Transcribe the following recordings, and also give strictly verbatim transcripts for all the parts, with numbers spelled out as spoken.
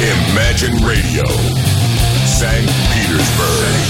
Imagine Radio, Saint Petersburg.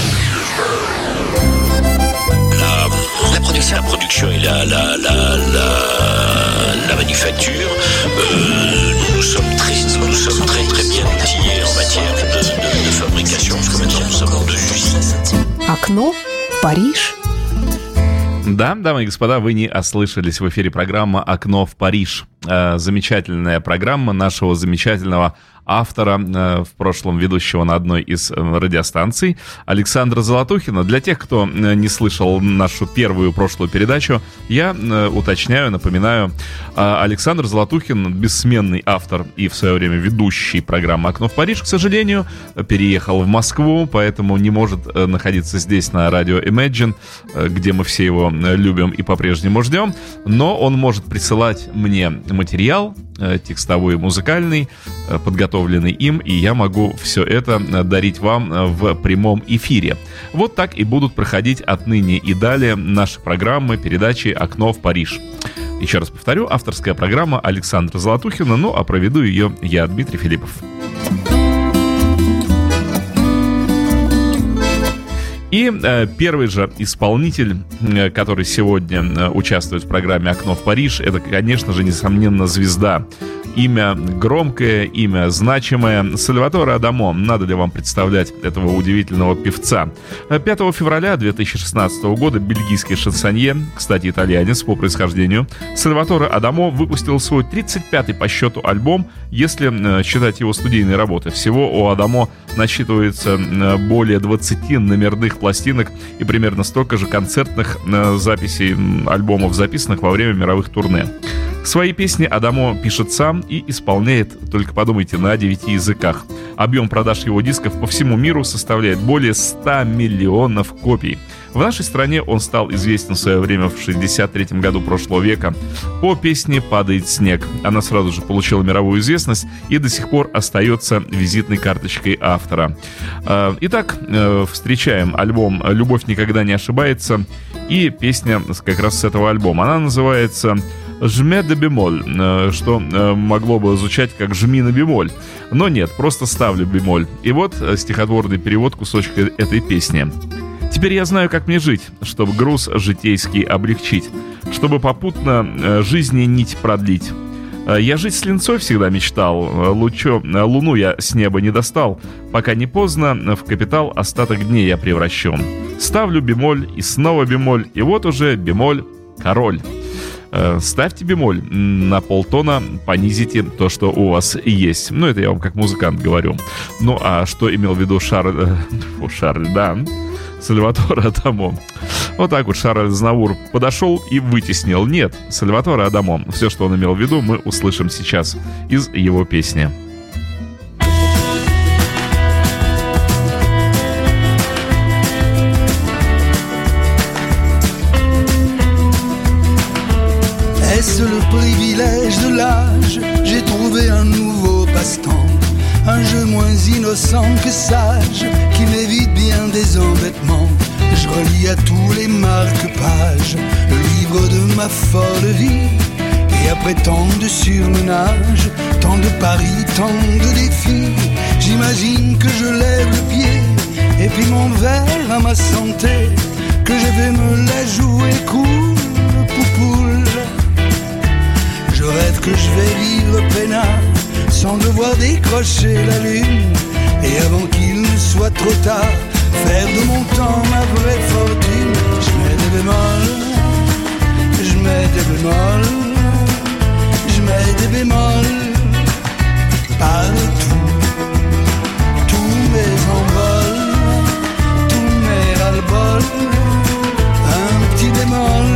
La, la production, la production et la, la, la, la, la manufacture, euh, nous sommes très, nous sommes très, très bien outillés en matière de, de, de fabrication, parce que maintenant nous sommes en deux usines. Окно в Париж. Да, дамы и господа, вы не ослышались. В эфире программа «Окно в Париж». Замечательная программа нашего замечательного автора, в прошлом ведущего на одной из радиостанций, Александра Золотухина. Для тех, кто не слышал нашу первую прошлую передачу, я уточняю, напоминаю, Александр Золотухин, бессменный автор и в свое время ведущий программы «Окно в Париж», к сожалению, переехал в Москву, поэтому не может находиться здесь на радио Imagine, где мы все его любим и по-прежнему ждем, но он может присылать мне материал текстовой и музыкальный, подготовленный им, и я могу все это дарить вам в прямом эфире. Вот так и будут проходить отныне и далее наши программы, передачи «Окно в Париж». Еще раз повторю, авторская программа Александра Золотухина, ну а проведу ее я, Дмитрий Филиппов. И э, первый же исполнитель, э, который сегодня э, участвует в программе «Окно в Париж», это, конечно же, несомненно, звезда. Имя громкое, имя значимое. Сальваторе Адамо. Надо ли вам представлять этого удивительного певца? пятого февраля две тысячи шестнадцатого года бельгийский шансонье, кстати, итальянец по происхождению, Сальваторе Адамо выпустил свой тридцать пятый по счету альбом, если э, считать его студийные работы. Всего у Адамо насчитывается э, более двадцати номерных пластинок и примерно столько же концертных э, записей альбомов, записанных во время мировых турне. Свои песни Адамо пишет сам и исполняет, только подумайте, на девяти языках. Объем продаж его дисков по всему миру составляет более ста миллионов копий. В нашей стране он стал известен в свое время в шестьдесят третьем году прошлого века по песне «Падает снег». Она сразу же получила мировую известность и до сих пор остается визитной карточкой автора. Итак, встречаем альбом «Любовь никогда не ошибается» и песня как раз с этого альбома. Она называется «Жме де бемоль», что могло бы звучать как «жми на бемоль». Но нет, просто ставлю бемоль. И вот стихотворный перевод кусочка этой песни. «Теперь я знаю, как мне жить, чтобы груз житейский облегчить, чтобы попутно жизни нить продлить. Я жить с линцой всегда мечтал, лучо, луну я с неба не достал, пока не поздно в капитал остаток дней я превращен. Ставлю бемоль и снова бемоль, и вот уже бемоль король». Ставьте бемоль на полтона, понизите то, что у вас есть. Ну, это я вам как музыкант говорю. Ну, а что имел в виду Шарль... Фу, Шарль, да, Сальваторе Адамо. Вот так вот Шарль Азнавур подошел и вытеснил. Нет, Сальваторе Адамо. Все, что он имел в виду, мы услышим сейчас из его песни. Est-ce le privilège de l'âge? J'ai trouvé un nouveau passe-temps, un jeu moins innocent que sage, qui m'évite bien des embêtements. Je relis à tous les marque-pages le livre de ma folle vie, et après tant de surmenage, tant de paris, tant de défis, j'imagine que je lève le pied, et puis mon verre à ma santé, que je vais me la jouer cool, poupoule. Je rêve que je vais vivre peinard, sans devoir décrocher la lune, et avant qu'il ne soit trop tard, faire de mon temps ma vraie fortune. Je mets des bémols, je mets des bémols, je mets des bémols, partout, tous mes envols, tous mes ras-le-bol, un petit bémol.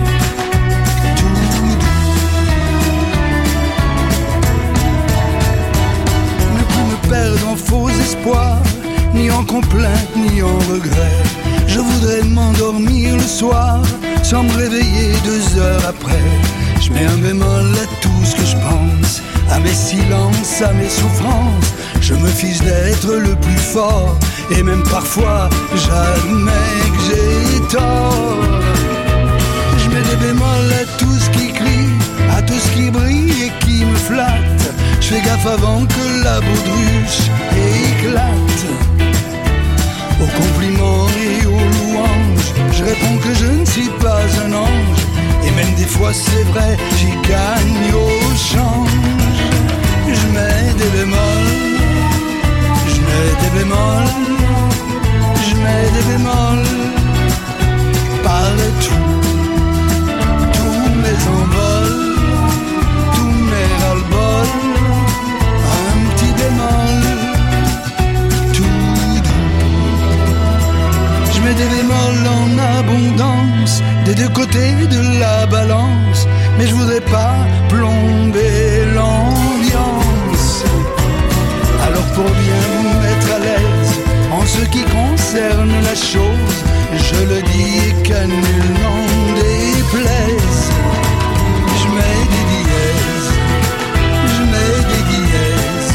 Perdre en faux espoirs, ni en complaintes, ni en regrets. Je voudrais m'endormir le soir, sans me réveiller deux heures après. Je mets un bémol à tout ce que je pense, à mes silences, à mes souffrances. Je me fiche d'être le plus fort, et même parfois j'admets que j'ai tort. Je mets des bémols à tout ce qui crie, à tout ce qui brille et qui me me flatte, je fais gaffe avant que la baudruche éclate. Aux compliments et aux louanges, je réponds que je ne suis pas un ange. Et même des fois c'est vrai, j'y gagne au change. Je mets des bémols, je mets des bémols, je mets des bémols partout. Tous mes envols, tous mes ras-le-bol, un petit bémol, tout doux. Je mets des bémols en abondance, des deux côtés de la balance, mais je voudrais pas plomber l'ambiance. Alors pour bien vous mettre à l'aise en ce qui concerne la chose, je le dis et qu'à nul n'en déplaise, je mets des dièses, je mets des dièses.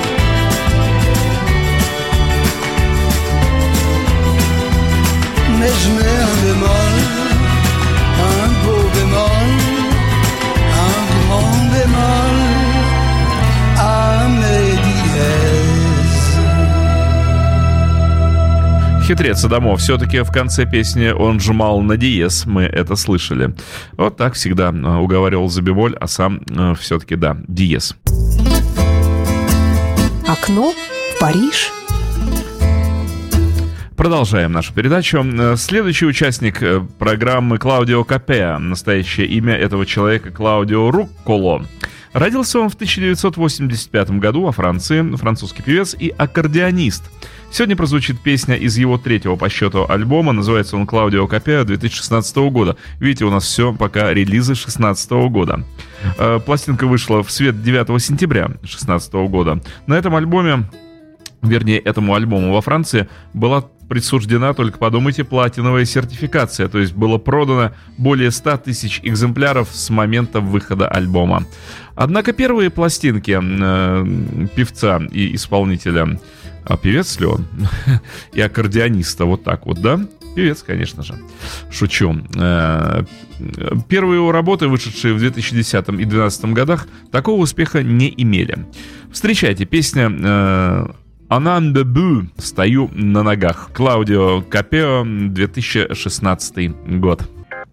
Mais je mets un bémol, un beau bémol, un grand bémol à mes dièses. Хитрец Адамов. Все-таки в конце песни он жмал на диез, мы это слышали. Вот так всегда уговаривал за бемоль, а сам э, все-таки, да, диез. Окно в Париж. Продолжаем нашу передачу. Следующий участник программы Клаудио Капеа. Настоящее имя этого человека Клаудио Рукколо. Родился он в тысяча девятьсот восемьдесят пятом году во Франции, французский певец и аккордеонист. Сегодня прозвучит песня из его третьего по счету альбома, называется он «Клаудио Капеа» две тысячи шестнадцатого года. Видите, у нас все пока релизы шестнадцатого года. Пластинка вышла в свет девятого сентября шестнадцатого года. На этом альбоме, вернее, этому альбому во Франции была присуждена, только подумайте, платиновая сертификация, то есть было продано более ста тысяч экземпляров с момента выхода альбома. Однако первые пластинки э, певца и исполнителя, а певец ли он? И аккордеониста, вот так вот, да? Певец, конечно же. Шучу. Э, первые его работы, вышедшие в две тысячи десятом и две тысячи двенадцатом годах, такого успеха не имели. Встречайте, песня... Э, «Анан дебю», «Стою на ногах». Клаудио Капеа, две тысячи шестнадцатый год.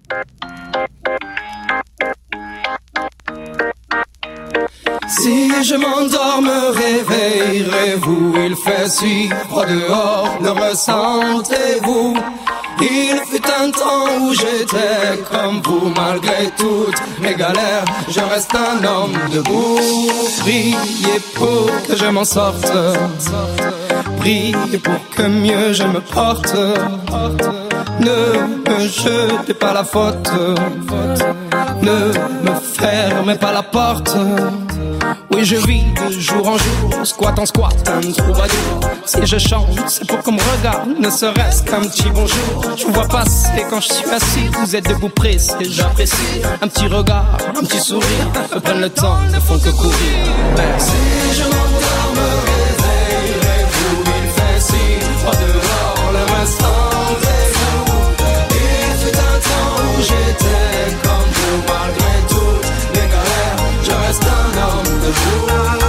Si je m'endors, me réveillerez-vous? Il fait si froid dehors, le ressentez-vous? Il fut un temps où j'étais comme vous, malgré toutes mes galères, je reste un homme debout. Priez pour que je m'en sorte, priez pour que mieux je me porte. Ne me jetez pas la faute, ne me fermez pas la porte. Oui, je vis de jour en jour, squat en squat, un troubadour. Si je chante, c'est pour qu'on me regarde, ne serait-ce qu'un petit bonjour. Je vous vois passer quand je suis assis, vous êtes debout pressé, j'apprécie. Un petit regard, un petit sourire, me prennent le temps, ne font que courir. Merci. Si je m'endors, me réveillerez-vous? Il fait si froid dehors, le restantez-vous? Il fut un temps où j'étais comme vous, malgré toutes mes galères, je reste un homme debout.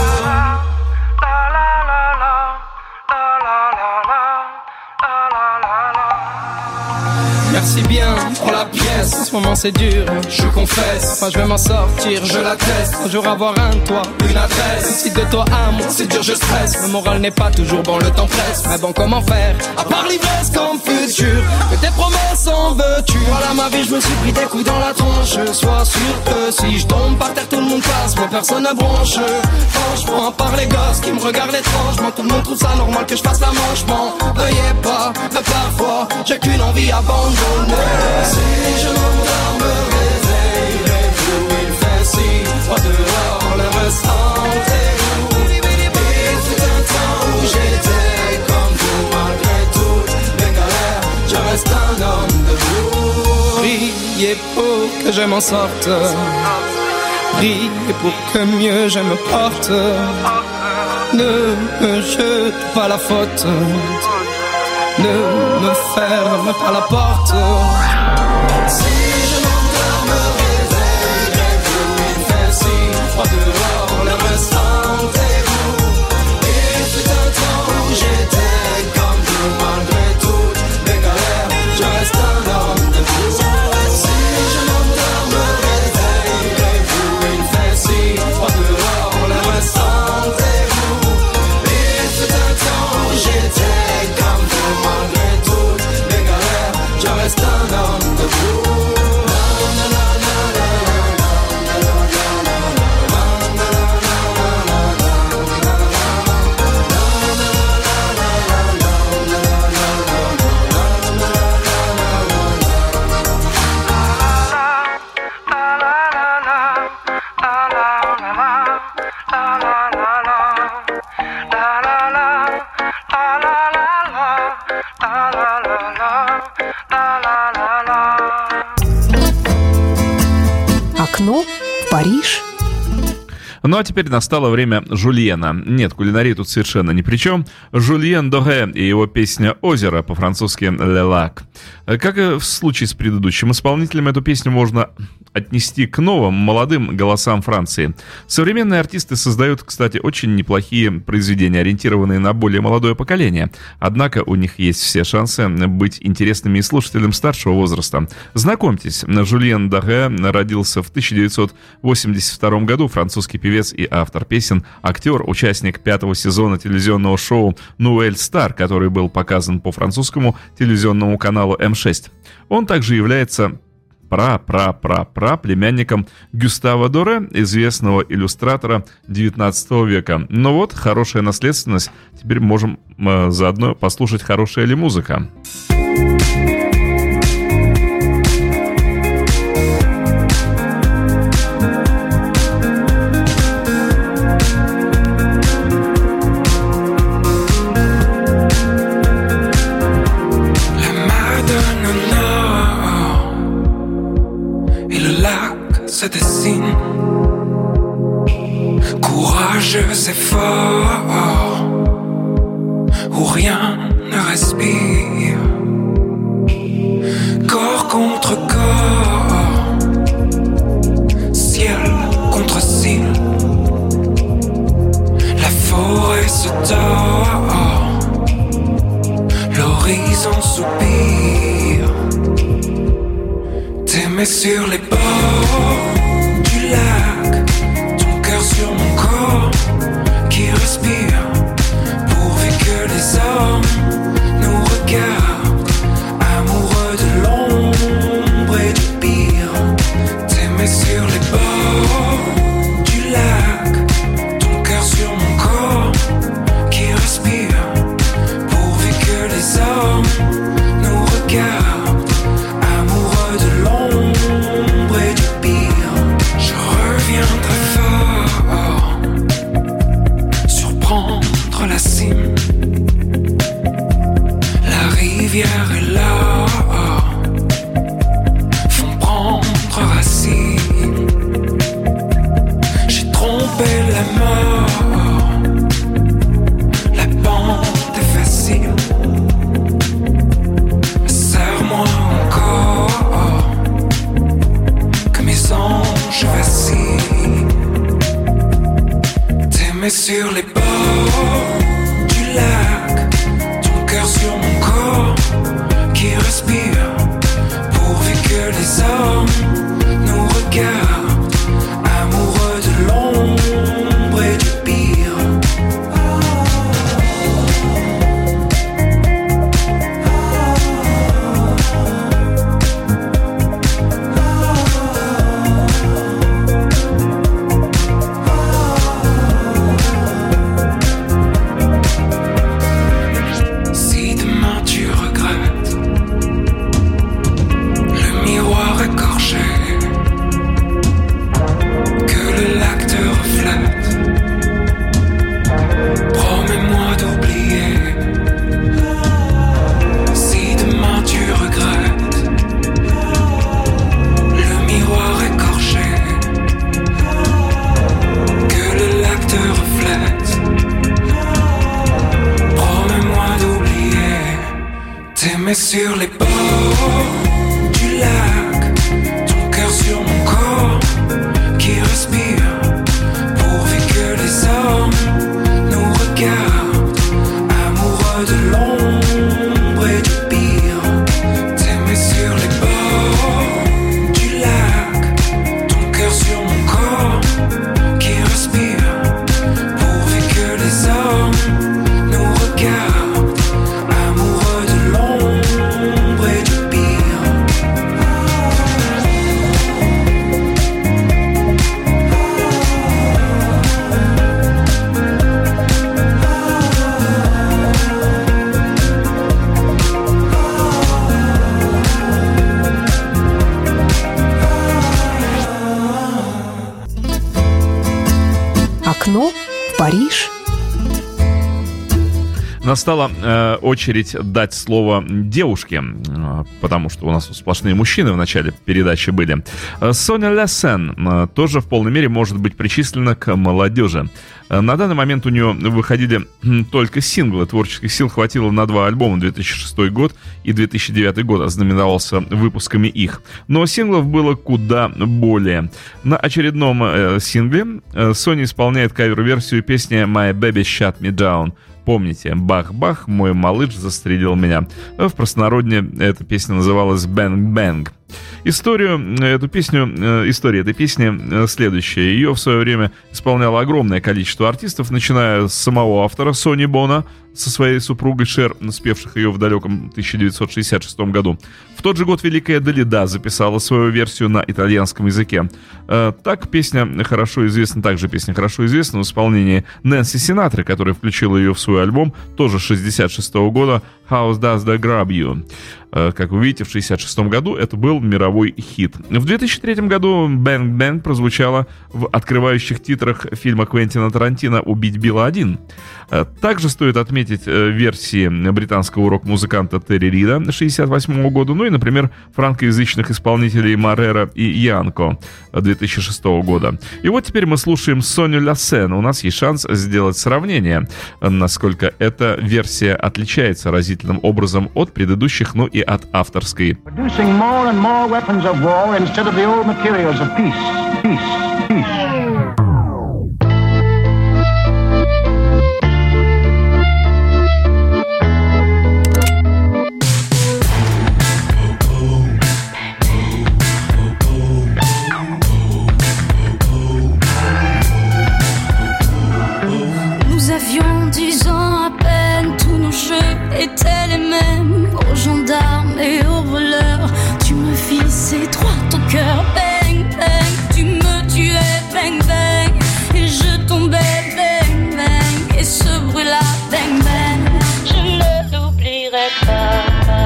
Merci bien pour la pièce, en ce moment c'est dur, je confesse. Moi je vais m'en sortir, je l'atteste. Un jour avoir un toit, une adresse. Si de toi à moi c'est dur, je stresse. Le moral n'est pas toujours bon, le temps presse. Mais bon, comment faire, à part l'ivresse comme futur? Que tes promesses en veux-tu? Voilà ma vie, je me suis pris des coups dans la tronche. Sois sûr que si je tombe par terre, tout le monde passe, mais personne ne bronche. Franchement, à part les gosses qui me regardent étrangement, tout le monde trouve ça normal que je fasse la manche. M'en veuillez pas, mais parfois j'ai qu'une envie abandonnée. Si je m'endors, me réveillerez-vous? Il fait si froid dehors, le ressentez-vous? Il fut un temps où j'étais comme vous, malgré toutes mes galères, je reste un homme debout. Priez pour que je m'en sorte, priez pour que mieux je me porte. Ne me jete pas la faute, ne me ferme pas la porte. Si je m'endors, me réveillerez-vous? Il fait si froid dehors, в Париж. Ну а теперь настало время Жульена. Нет, кулинария тут совершенно ни при чем. Жульен Доге и его песня «Озеро», по-французски «Le Lac». Как и в случае с предыдущим исполнителем, эту песню можно отнести к новым, молодым голосам Франции. Современные артисты создают, кстати, очень неплохие произведения, ориентированные на более молодое поколение. Однако у них есть все шансы быть интересными и слушателям старшего возраста. Знакомьтесь, Жульен Доге родился в тысяча девятьсот восемьдесят втором году, французский певец и автор песен, актер, участник пятого сезона телевизионного шоу «Nouvelle Star», который был показан по французскому телевизионному каналу эм шесть. Он также является пра-пра-пра-пра племянником Гюстава Доре, известного иллюстратора девятнадцатого века. Но вот, хорошая наследственность. Теперь можем э, заодно послушать, хорошая ли музыка. Se dessine, courageux et fort, où rien ne respire, corps contre corps, ciel contre ciel, la forêt se tord, l'horizon soupire, t'aimer sur les bords du lac, ton cœur sur mon corps qui respire, pourvu que les hommes nous regardent, amoureux de l'ombre et du pire. T'aimer sur les bords du lac, ton cœur sur mon corps qui respire, pourvu que les hommes nous regardent, amoureux de l'ombre et du pire. Je reviens très fort, surprendre la cime, la rivière et l'or font prendre racine. J'ai trompé la mort, la pente est facile, serre-moi encore, que mes anges vacillent. T'aimer sur les bords du lac, ton cœur sur mon corps qui respire, pourvu que les hommes nous regardent, amoureux de l'ombre et du pire. Si demain tu regrettes le miroir écorché, que le lac te reflète, promets-moi d'oublier. Si demain tu regrettes le miroir écorché, que le lac te reflète, promets-moi d'oublier. T'aimer sur les bords du lac, ton cœur sur mon corps qui respire, pourvu que les hommes nous regardent, amoureux de l'ombre et du pire. T'aimer sur les bords du lac, ton cœur sur mon corps qui respire, pourvu que les hommes nous regardent, amoureux de l'ombre et du pire. Окно в Париж. Настала э, очередь дать слово девушке, э, потому что у нас сплошные мужчины в начале передачи были. Соня Лассен э, тоже в полной мере может быть причислена к молодежи. Э, на данный момент у нее выходили э, только синглы. Творческих сил хватило на два альбома. две тысячи шестой год и две тысячи девятый год ознаменовался выпусками их. Но синглов было куда более. На очередном э, сингле э, Соня исполняет кавер-версию песни «My Baby Shut Me Down». Помните, бах-бах, мой малыш застрелил меня. В простонародье эта песня называлась «Бэнг-бэнг». Историю, эту песню, история этой песни следующая. Ее в свое время исполняло огромное количество артистов, начиная с самого автора Сони Бона со своей супругой Шер, спевших ее в далеком тысяча девятьсот шестьдесят шестом году. В тот же год великая Далида записала свою версию на итальянском языке. Так песня хорошо известна, также песня хорошо известна в исполнении Нэнси Синатры, которая включила ее в свой альбом, тоже шестьдесят шестого года, «How Does That Grab You?». Как вы видите, в шестьдесят шестом году это был мировой хит. В две тысячи третьем году «Бэнг Бэнг» прозвучала в открывающих титрах фильма Квентина Тарантино «Убить Билла один». Также стоит отметить версии британского рок-музыканта Терри Рида шестьдесят восьмого года, ну и, например, франкоязычных исполнителей Маррера и Янко две тысячи шестого года. И вот теперь мы слушаем Соню Лассен. У нас есть шанс сделать сравнение, насколько эта версия отличается разительным образом от предыдущих, ну и от авторской. Nous avions dix ans à peine, tous nos jeux étaient les mêmes. Aux gendarmes et aux voleurs, tu me visais droit au cœur. Bang, bang, tu me tuais, bang, bang. Et je tombais, bang, bang. Et ce bruit-là, bang, bang, je ne l'oublierai pas.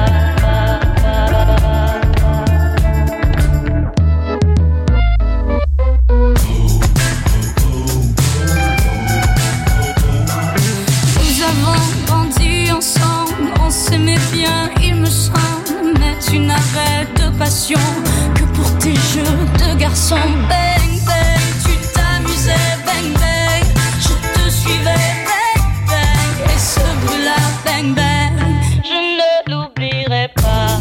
On s'aimait bien, il me semble, mais tu n'avais de passion que pour tes jeux de garçon. Bang, bang, tu t'amusais, bang, bang, je te suivais, bang, bang. Et ce bruit-là, bang, bang, je ne l'oublierai pas.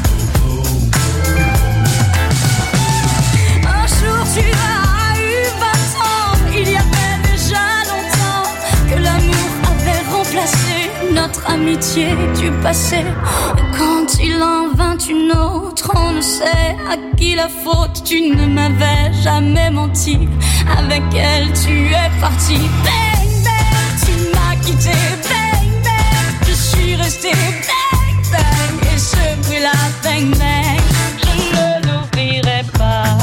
Un jour tu as eu vingt ans, il y avait déjà longtemps que l'amour avait remplacé notre amitié du passé. Quand il en vint une autre, on ne sait à qui la faute. Tu ne m'avais jamais menti, avec elle tu es parti. Bang, bang, tu m'as quitté. Bang, bang, je suis resté. Bang, bang, et ce bruit-là, bang, bang, je ne l'oublierai pas.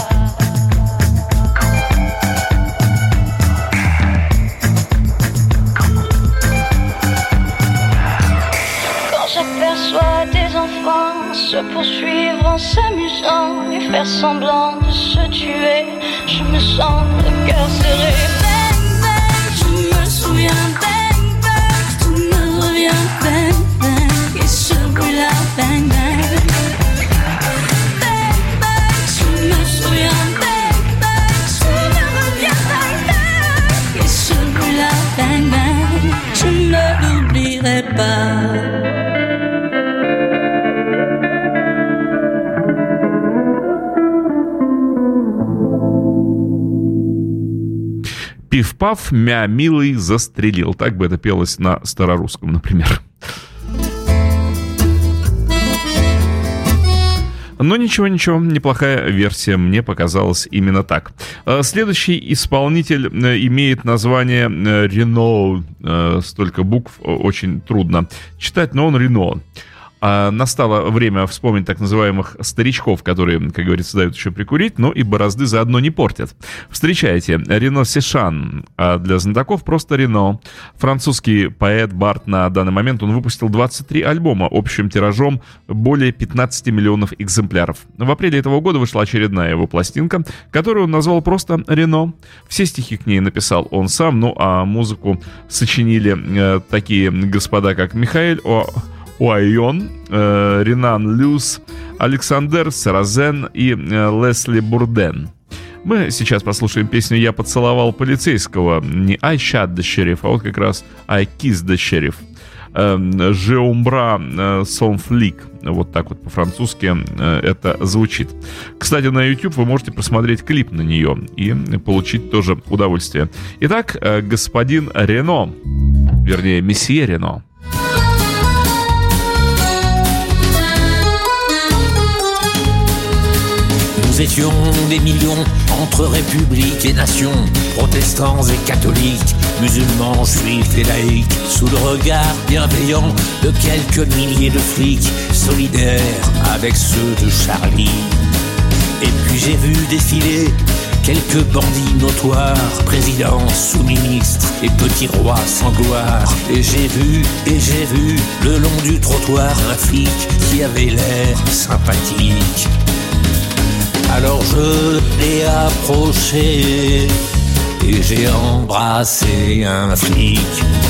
J'aperçois des enfants se poursuivre en s'amusant et faire semblant de se tuer. Je me sens le cœur serré. Bang, bang, je me souviens. Bang, bang, tout me revient. Bang, bang, et ce bruit-là, bang, bang. Bang, bang, je me souviens. Bang, bang, tout me revient. Bang, bang, et ce bruit-là, bang, bang, je ne l'oublierai pas. Пиф-паф, мя, милый, застрелил. Так бы это пелось на старорусском, например. Но ничего-ничего, неплохая версия, мне показалась именно так. Следующий исполнитель имеет название Рено. Столько букв, очень трудно читать, но он Рено. А настало время вспомнить так называемых старичков, которые, как говорится, дают еще прикурить, но и борозды заодно не портят. Встречайте, Рено Сешан, а для знатоков просто Рено. Французский поэт, бард. На данный момент он выпустил двадцать три альбома общим тиражом более пятнадцать миллионов экземпляров. В апреле этого года вышла очередная его пластинка, которую он назвал просто Рено. Все стихи к ней написал он сам, ну а музыку сочинили э, такие господа, как Михаэль О... Уайон, э, Ренан Люс, Александр Саразен и э, Лесли Бурден. Мы сейчас послушаем песню «Я поцеловал полицейского». Не «I shot the sheriff», а вот как раз «I kissed the sheriff». «Je umbra son flic». Вот так вот по-французски э, это звучит. Кстати, на YouTube вы можете посмотреть клип на нее и получить тоже удовольствие. Итак, э, господин Рено, вернее, месье Рено. Nous étions des millions entre républiques et nations, protestants et catholiques, musulmans, juifs et laïcs, sous le regard bienveillant de quelques milliers de flics, solidaires avec ceux de Charlie. Et puis j'ai vu défiler quelques bandits notoires, présidents, sous-ministres et petits rois sans gloire. Et j'ai vu, et j'ai vu, le long du trottoir, un flic qui avait l'air sympathique. Alors je l'ai approché et j'ai embrassé un flic.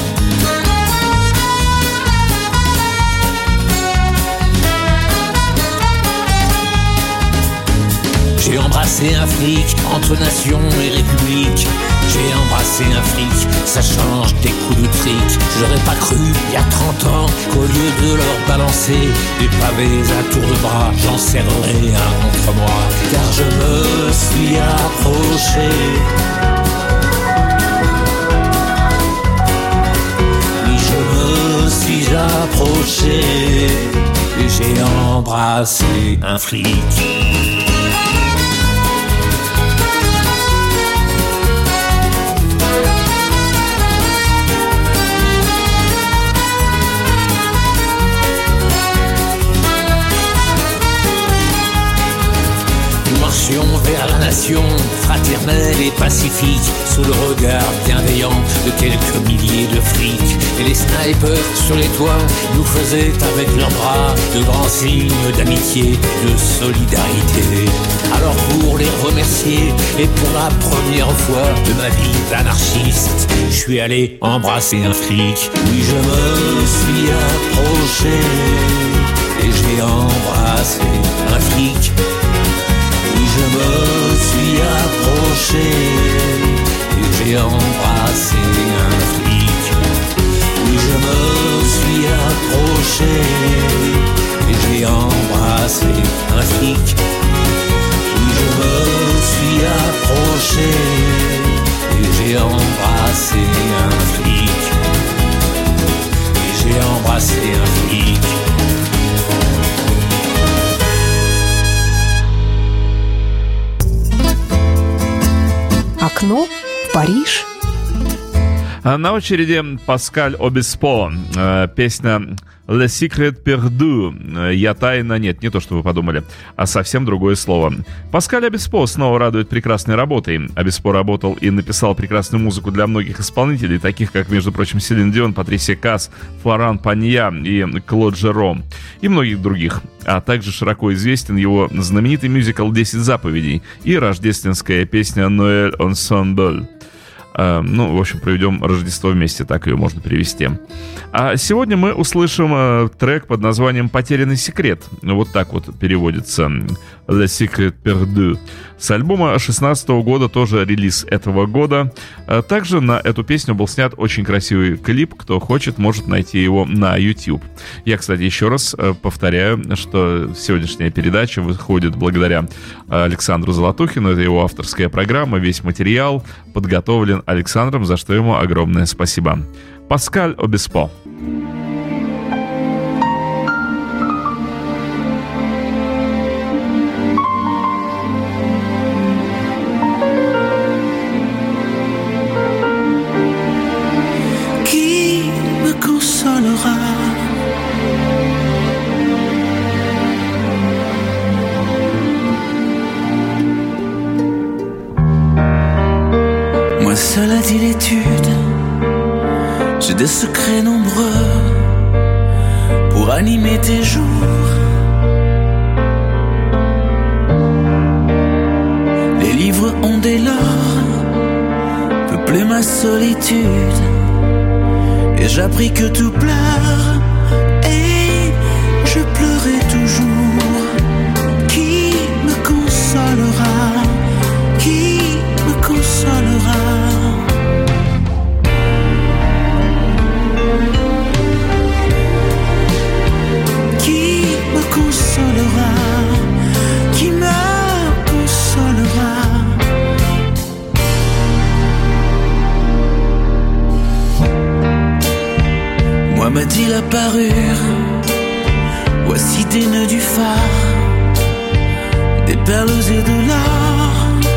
J'ai embrassé un flic entre nation et république. J'ai embrassé un flic, ça change des coups de trick. J'aurais pas cru, il y a trente ans, qu'au lieu de leur balancer des pavés à tour de bras, j'en serrerais un contre moi. Car je me suis approché. Oui, je me suis approché et j'ai embrassé un flic. Vers la nation, fraternelle et pacifique, sous le regard bienveillant de quelques milliers de flics. Et les snipers sur les toits nous faisaient avec leurs bras de grands signes d'amitié, de solidarité. Alors pour les remercier et pour la première fois de ma vie d'anarchiste, je suis allé embrasser un flic. Oui, je me suis approché et j'ai embrassé un flic. Je me suis approché et j'ai embrassé un flic. Oui, je me suis approché et j'ai embrassé un flic. Oui, je me suis approché et j'ai embrassé un flic. Et j'ai embrassé un flic. Окно в Париж. На очереди Паскаль Обеспо, песня «Le Secret Perdu», «Я тайна», нет, не то, что вы подумали, а совсем другое слово. Паскаль Обеспо снова радует прекрасной работой. Обеспо работал и написал прекрасную музыку для многих исполнителей, таких как, между прочим, Селин Дион, Патрисия Касс, Флоран Панья и Клод Жером, и многих других. А также широко известен его знаменитый мюзикл «Десять заповедей» и рождественская песня «Ноэль Ensemble». Ну, в общем, проведем Рождество вместе, так ее можно перевести. А сегодня мы услышим э, трек под названием «Потерянный секрет». Вот так вот переводится «Le Secret Perdu». С альбома шестнадцатого года, тоже релиз этого года. Также на эту песню был снят очень красивый клип. Кто хочет, может найти его на YouTube. Я, кстати, еще раз повторяю, что сегодняшняя передача выходит благодаря Александру Золотухину. Это его авторская программа. Весь материал подготовлен Александром, за что ему огромное спасибо. Паскаль Обеспо. J'ai des secrets nombreux pour animer tes jours. Les livres ont dès lors peuplé ma solitude, et j'ai appris que tout pleure, et je pleurais toujours. Qui me consolera? Qui me consolera? Qui me consolera? Qui me consolera? Moi m'a dit la parure, voici des nœuds du phare, des perles et de l'or.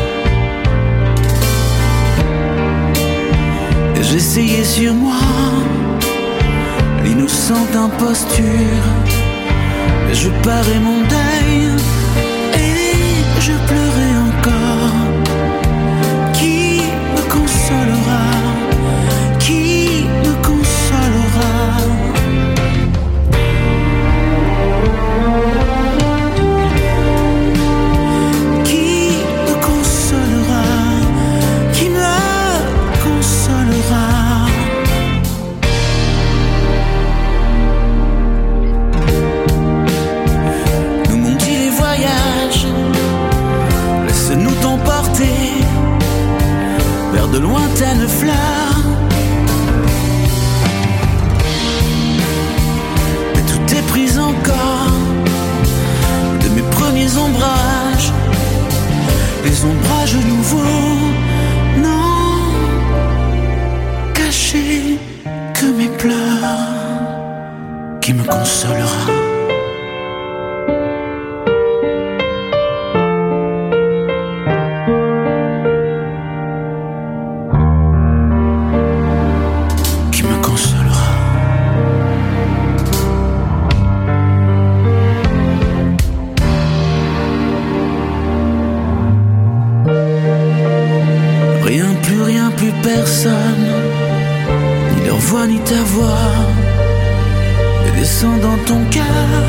Et j'essayais sur moi l'innocente imposture, mais je parais mon deuil et je pleurais encore. Qui me consolera? Qui me consolera? Qui me consolera? Qui me consolera? Nous m'ont dit les voyages, laisse-nous t'emporter vers de lointaines fleurs. Mais tout est pris encore de mes premiers ombrages, les ombrages nouveaux, non cachés que mes pleurs. Qui me consolera? Qui me consolera? Rien, plus rien, plus personne, ni leur voix ni ta voix, ne descend dans ton cœur.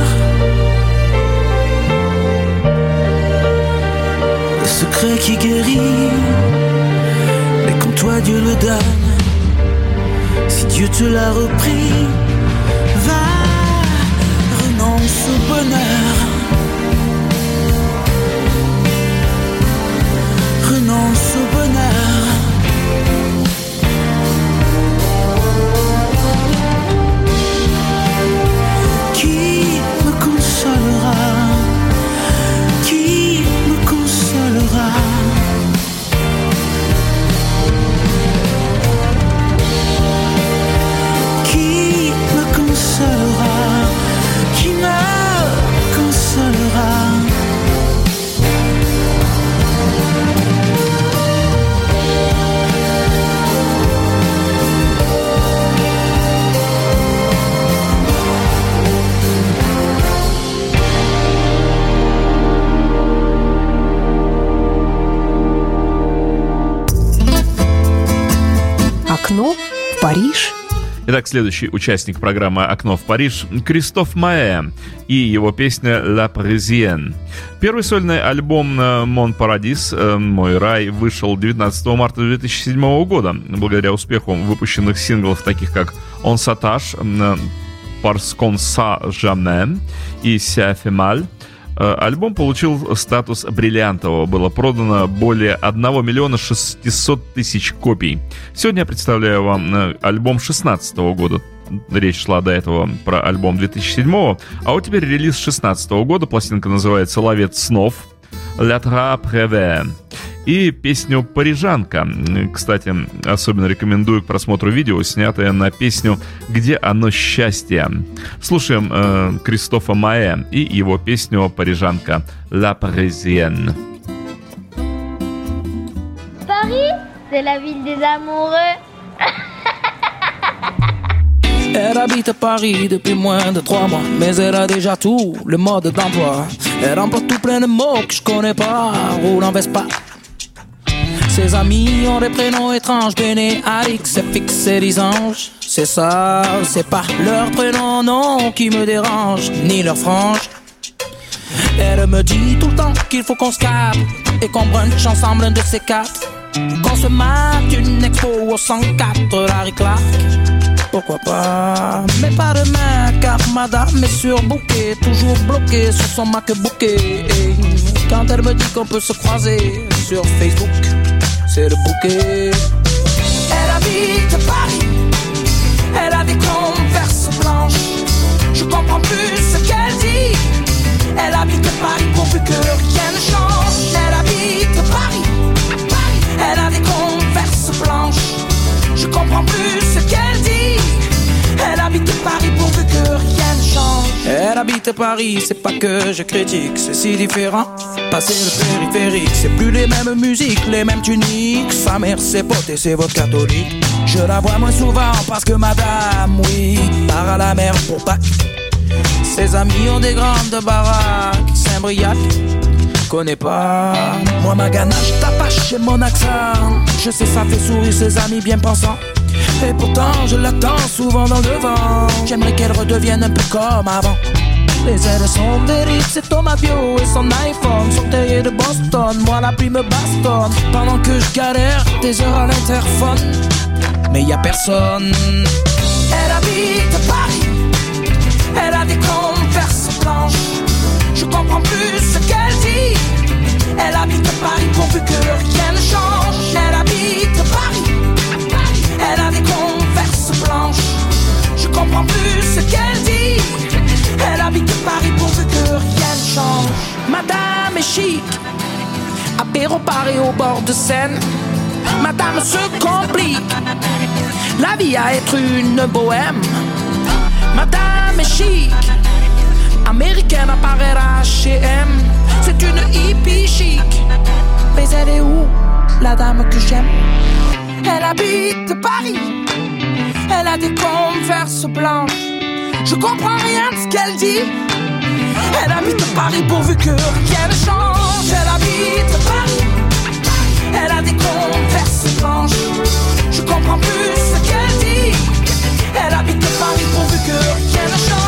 Le secret qui guérit, mais quand toi Dieu le donne, si Dieu te l'a repris, va, renonce au bonheur, renonce au bonheur. Qui me consolera? Qui me consolera? Qui me consolera? Qui me consolera? Окно в Париж. Итак, следующий участник программы «Окно в Париж» — Кристоф Маэ и его песня «La Parisienne». Первый сольный альбом «Mon Paradis», «Мой рай», вышел девятнадцатого марта две тысячи седьмого года. Благодаря успеху выпущенных синглов, таких как «On s'attache», «Parce qu'on sait jamais» и «Ça fait mal», альбом получил статус бриллиантового. Было продано более одного миллиона шестисот тысяч копий. Сегодня я представляю вам альбом шестнадцатого года. Речь шла до этого про альбом две тысячи седьмого. А вот теперь релиз шестнадцатого года. Пластинка называется «Ловец снов», «La Trappe rêvée». И песню «Парижанка». Кстати, особенно рекомендую к просмотру видео, снятое на песню «Где оно счастье». Слушаем э, Кристофа Маэ и его песню «Парижанка» «La Parisienne». Paris, c'est la ville des amoureux. Elle habite à Paris depuis moins de trois mois, mais elle a déjà tout le mode d'emploi. Elle remporte tout plein de mots que je connais pas, roule en Vespa. Ses amis ont des prénoms étranges, Béné, Alix, F X et Lisange. C'est ça, c'est pas leur prénom, non, qui me dérange, ni leur frange. Elle me dit tout le temps qu'il faut qu'on se capte et qu'on brunch ensemble un de ces quatre. Qu'on se mate une expo au cent quatre Larry Clark. Pourquoi pas, mais pas demain, car madame est surbookée, toujours bloquée sur son MacBook. Et quand elle me dit qu'on peut se croiser sur Facebook, c'est le bouquet. Elle habite Paris, elle a des converses blanches. Je comprends plus ce qu'elle dit. Elle habite Paris pourvu que rien ne change. Elle habite Paris, Paris. Elle a des converses blanches. Je comprends plus ce qu'elle dit. Elle habite Paris pourvu que rien ne change. Elle habite Paris, c'est pas que je critique, c'est si différent. Passer le périphérique, c'est plus les mêmes musiques, les mêmes tuniques. Sa mère c'est pote et c'est votre catholique. Je la vois moins souvent parce que madame, oui, part à la mer pour Pâques. Ses amis ont des grandes baraques, Saint-Briac, connais pas. Moi ma ganache t'apache et mon accent, je sais ça fait sourire ses amis bien pensants. Et pourtant je l'attends souvent dans le vent. J'aimerais qu'elle redevienne un peu comme avant. Les ailes sont d'Eric, c'est Thomas Bio et son iPhone, son terrier de Boston. Moi la pluie me bastonne pendant que je galère des heures à l'interphone. Mais y a personne. Elle habite Paris, elle a des converses blanches. Je comprends plus ce qu'elle dit. Elle habite Paris pourvu que rien ne change. Elle habite Paris, elle a des converses blanches. Je comprends plus ce qu'elle dit. Elle habite Paris pourvu que rien ne change. Madame est chic, apéro Paris au bord de Seine. Madame se complique la vie à être une bohème. Madame est chic, américaine à Paris H et M. C'est une hippie chic. Mais elle est où, la dame que j'aime? Elle habite Paris, elle a des converses blanches. Je comprends rien de ce qu'elle dit. Elle habite Paris pourvu que rien ne change. Elle habite Paris, elle a des converses blanches. Je comprends plus ce qu'elle dit. Elle habite Paris pourvu que rien ne change.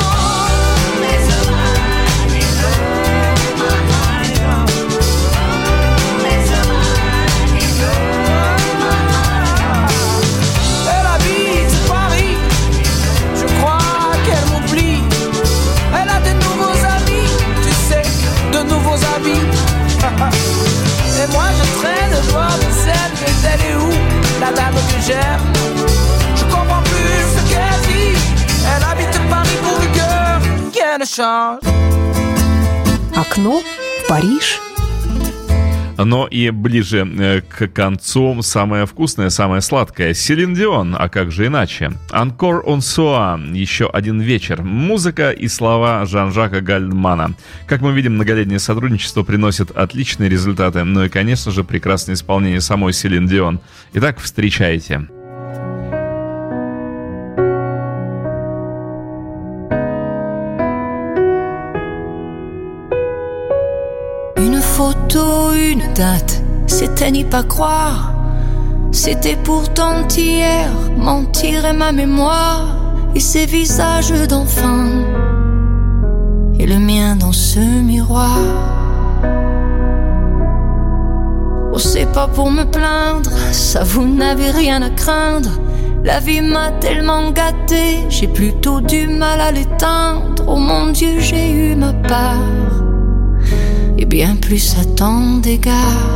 Elle habite Paris, je crois qu'elle m'oublie. Elle a de nouveaux amis, tu sais, de nouveaux habits. Et moi je traîne le noir de scène. Mais elle est où, la dame que j'aime? Je comprends plus ce qu'elle dit. Elle habite Paris pourvu que rien ne change. Окно в Париж. Но и ближе к концу самое вкусное, самое сладкое. Селин Дион, а как же иначе? Encore un soir, еще один вечер. Музыка и слова Жан-Жака Гальмана. Как мы видим, многолетнее сотрудничество приносит отличные результаты. Ну и, конечно же, прекрасное исполнение самой Селин Дион. Итак, встречайте. Photo, une date, c'était n'y pas croire. C'était pourtant hier, mentir est ma mémoire. Et ces visages d'enfants, et le mien dans ce miroir. Oh, c'est pas pour me plaindre, ça vous n'avez rien à craindre. La vie m'a tellement gâtée, j'ai plutôt du mal à l'éteindre. Oh mon Dieu, j'ai eu ma part. Et bien plus à tant d'égards.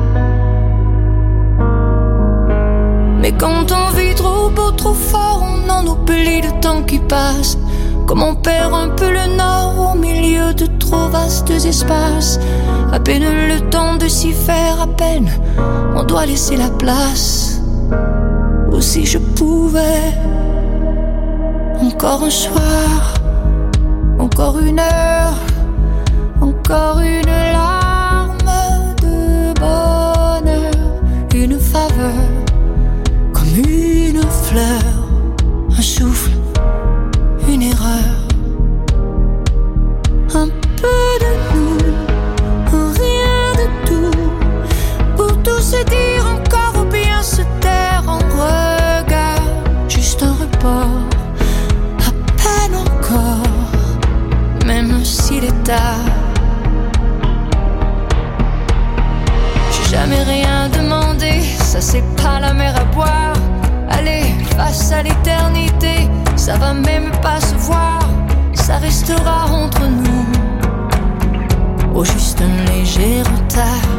Mais quand on vit trop beau, trop fort, on en oublie le temps qui passe. Comme on perd un peu le nord au milieu de trop vastes espaces. À peine le temps de s'y faire, à peine on doit laisser la place. Ou si je pouvais, encore un soir, encore une heure, encore une larme de bonheur, une faveur, comme une fleur, un souffle, une erreur, un peu de nous, un rien de tout, pour tout se dire encore ou bien se taire en regard, juste un repas. encore, à peine encore, même s'il est tard. J'ai jamais rien demandé, ça c'est pas la mer à boire. Allez, face à l'éternité, ça va même pas se voir, ça restera entre nous, au juste un léger retard.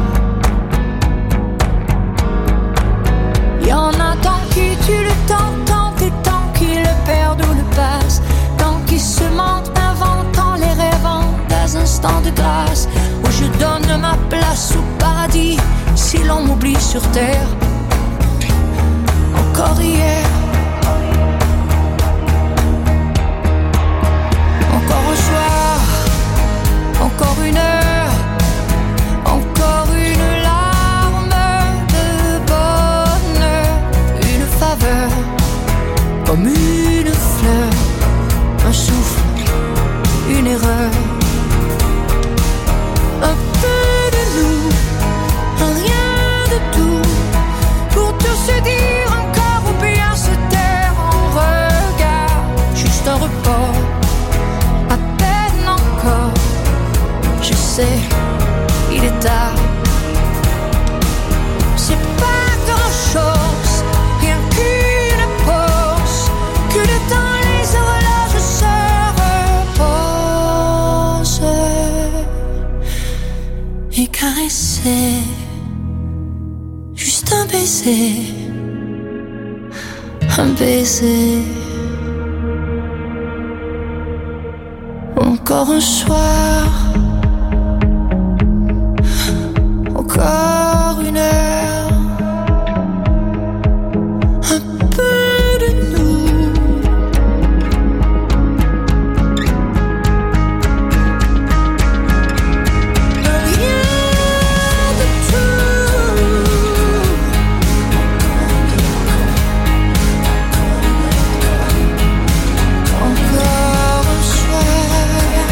Y'en a tant qui tuent le temps, tant et tant qui le perdent ou le passent, tant qui se mentent, inventant les rêvant des instants de grâce, où je donne ma place au paradis, si l'on m'oublie sur terre. Encore hier, encore un soir, encore une heure, encore une larme de bonheur, une faveur, comme une fleur, un souffle, une erreur, un peu de nous, un rien de tout, pour tout se dire encore ou bien se taire en regard, juste un report, à peine encore, je sais, il est tard. C'est pas grand chose, rien qu'une pause, que le temps les horloges se reposent et caresser, juste un baiser, un baiser. Encore un soir, encore une heure, un peu de nous, rien de tout. Encore un soir,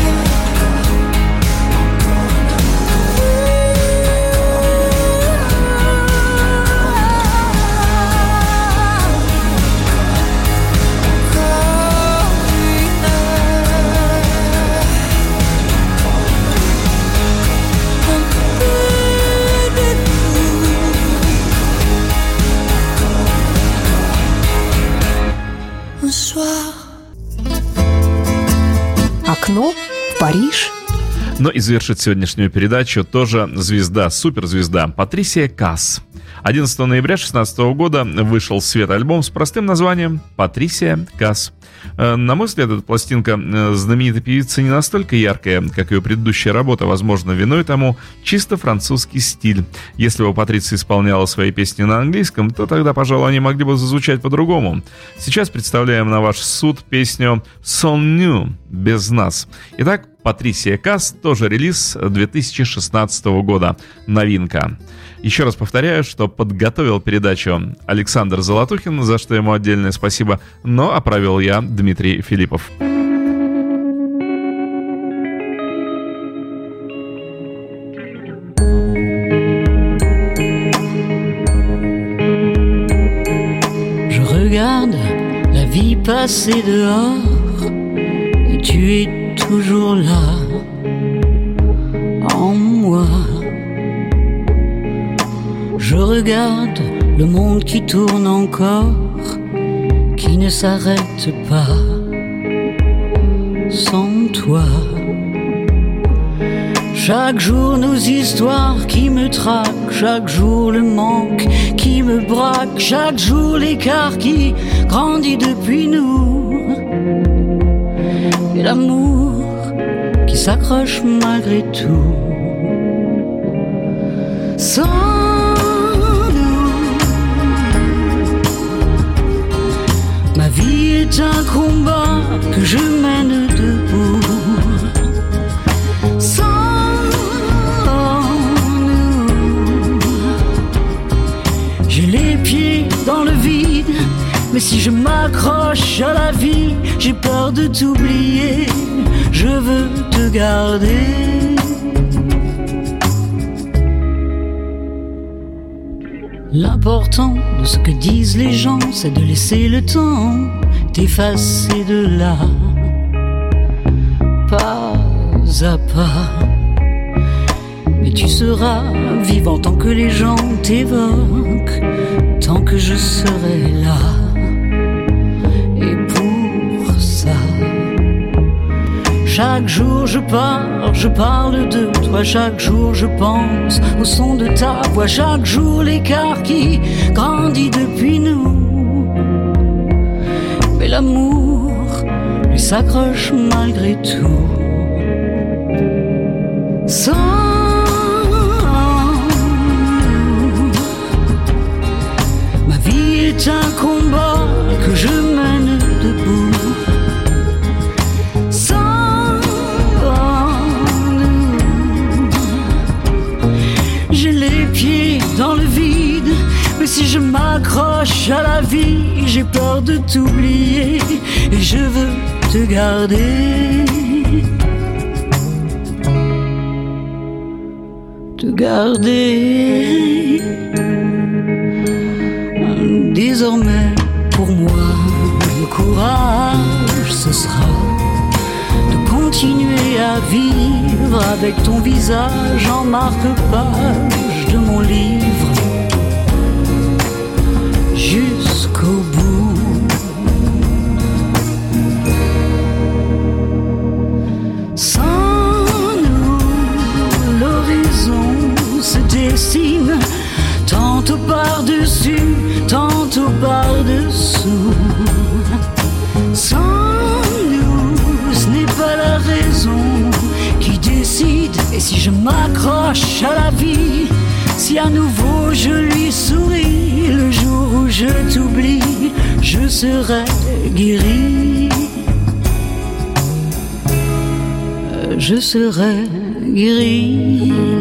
un soir. Окно в Париж. Но и завершит сегодняшнюю передачу тоже звезда, суперзвезда Патрисия Касс. одиннадцатого ноября две тысячи шестнадцатого года вышел в свет альбом с простым названием «Патрисия Касс». На мой взгляд, эта пластинка знаменитой певицы не настолько яркая, как ее предыдущая работа. Возможно, виной тому чисто французский стиль. Если бы Патриция исполняла свои песни на английском, то тогда, пожалуй, они могли бы зазвучать по-другому. Сейчас представляем на ваш суд песню «Sans nous» без нас. Итак, Патрисия Касс, тоже релиз две тысячи шестнадцатого года, новинка. Еще раз повторяю, что подготовил передачу Александр Золотухин, за что ему отдельное спасибо, но а провел я, Дмитрий Филиппов. Je regarde la vie passer dehors et tu es toujours là en moi. Je regarde le monde qui tourne encore, qui ne s'arrête pas sans toi. Chaque jour nos histoires qui me traquent, chaque jour le manque qui me braque, chaque jour l'écart qui grandit depuis nous, et l'amour qui s'accroche malgré tout. Sans ma vie est un combat que je mène debout. Sans nous, j'ai les pieds dans le vide, mais si je m'accroche à la vie, j'ai peur de t'oublier. Je veux te garder. L'important de ce que disent les gens, c'est de laisser le temps t'effacer de là, pas à pas. Mais tu seras vivant tant que les gens t'évoquent, tant que je serai là. Et pour ça, chaque jour je pars, je parle de toi. Chaque jour je pense au son de ta voix. Chaque jour l'écart qui grandit depuis nous. Mais l'amour lui s'accroche malgré tout. Sans ma vie est un combat que je mène debout. Sans nous, j'ai les pieds dans le vide. Mais si je m'accroche à la vie, j'ai peur de t'oublier. Et je veux te garder, te garder. Désormais pour moi le courage ce sera de continuer à vivre avec ton visage en marque-page de mon livre jusqu'au bout. Sans nous l'horizon se dessine, tantôt par-dessus, tantôt par-dessous. Sans nous, ce n'est pas la raison qui décide. Et si je m'accroche à la vie, si à nouveau je lui souris, le jour où je t'oublie, je serai guéri. Je serai guéri.